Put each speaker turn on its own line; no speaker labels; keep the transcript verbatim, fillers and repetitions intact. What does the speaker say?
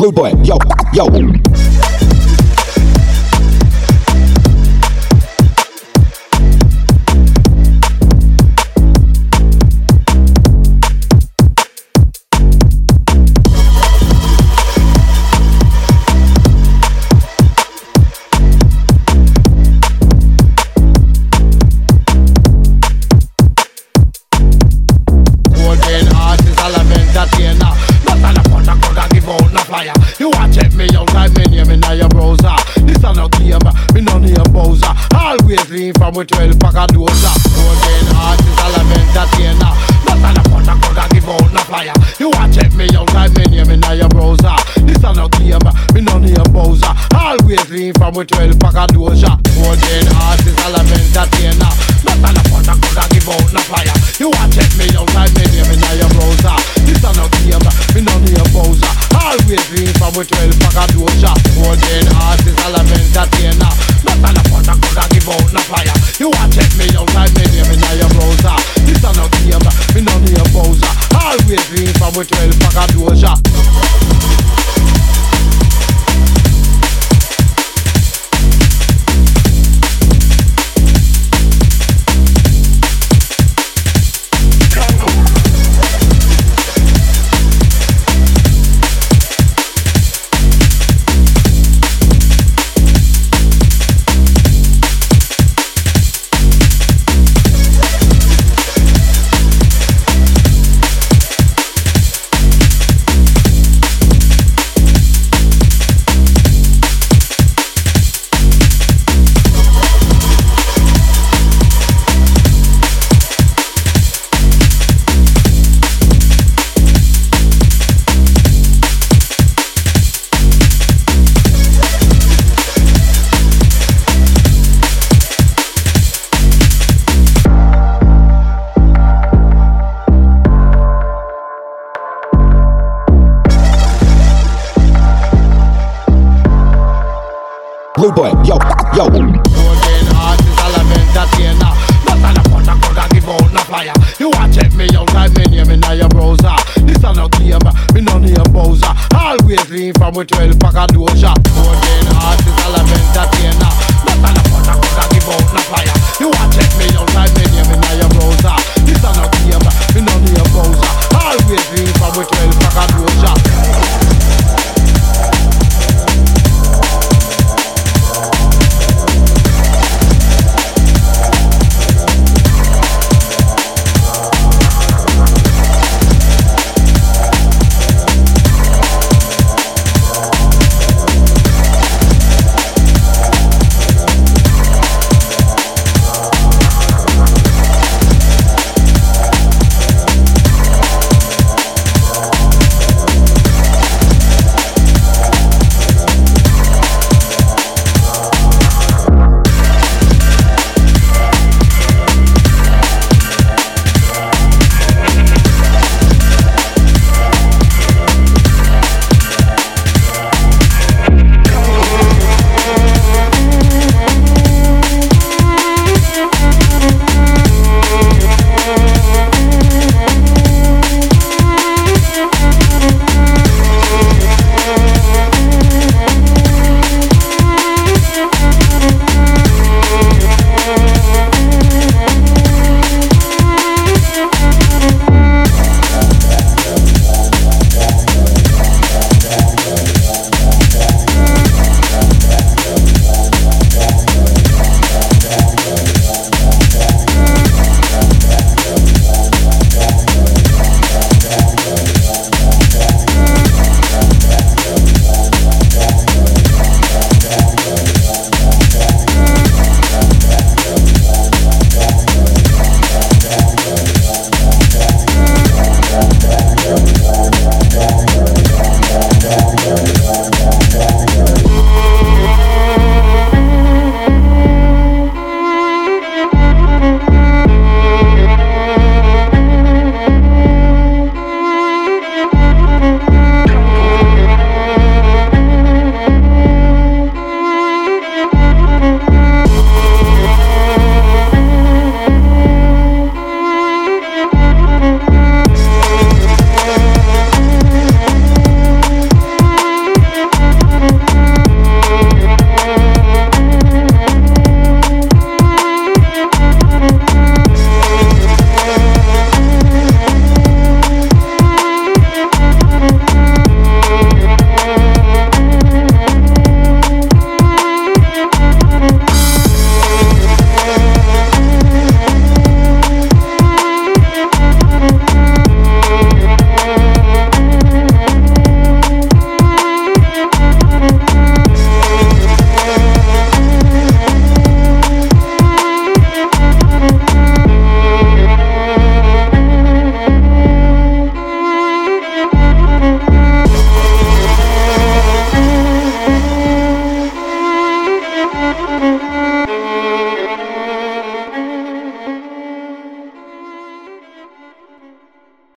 Rude boy, yo, yo.
You want check me out like me name in your browser. This a no game, me no need a Bowser. Always lean from with twelve pack of dozer. Golden artist, all I entertainer. Not on a phone, I could give out no flyer. You want check me out like me name in your browser. This a no game, me no need a Bowser. Always lean from with twelve pack of dozer. Golden artist, all I entertainer. Not on a phone, I could give out no flyer. You want check me out like me name in your browser. This a no game, me no need a Bowser. Always lean from with twelve pack of dozer. Golden artist, all I'm entertainer. Not on a phone, I could give out no flyer. You want check me out like me name in your browser. This a no game, me no need a Bowser. Always lean from with twelve pack of dozer.
Rude boy, yo, yo.
Golden artist, all I'm entertainer. Not on a phone, I could give out no flyer. You want check me out like me name in your browser. This a no game, me no need a Bowser. Always lean from with twelve pack of dozer. Golden artist, all I'm entertainer. Not on a phone, I could give out no flyer. You want check me out like me name in your browser. This a no game, me no need a Bowser. Always lean from with twelve pack of dozer.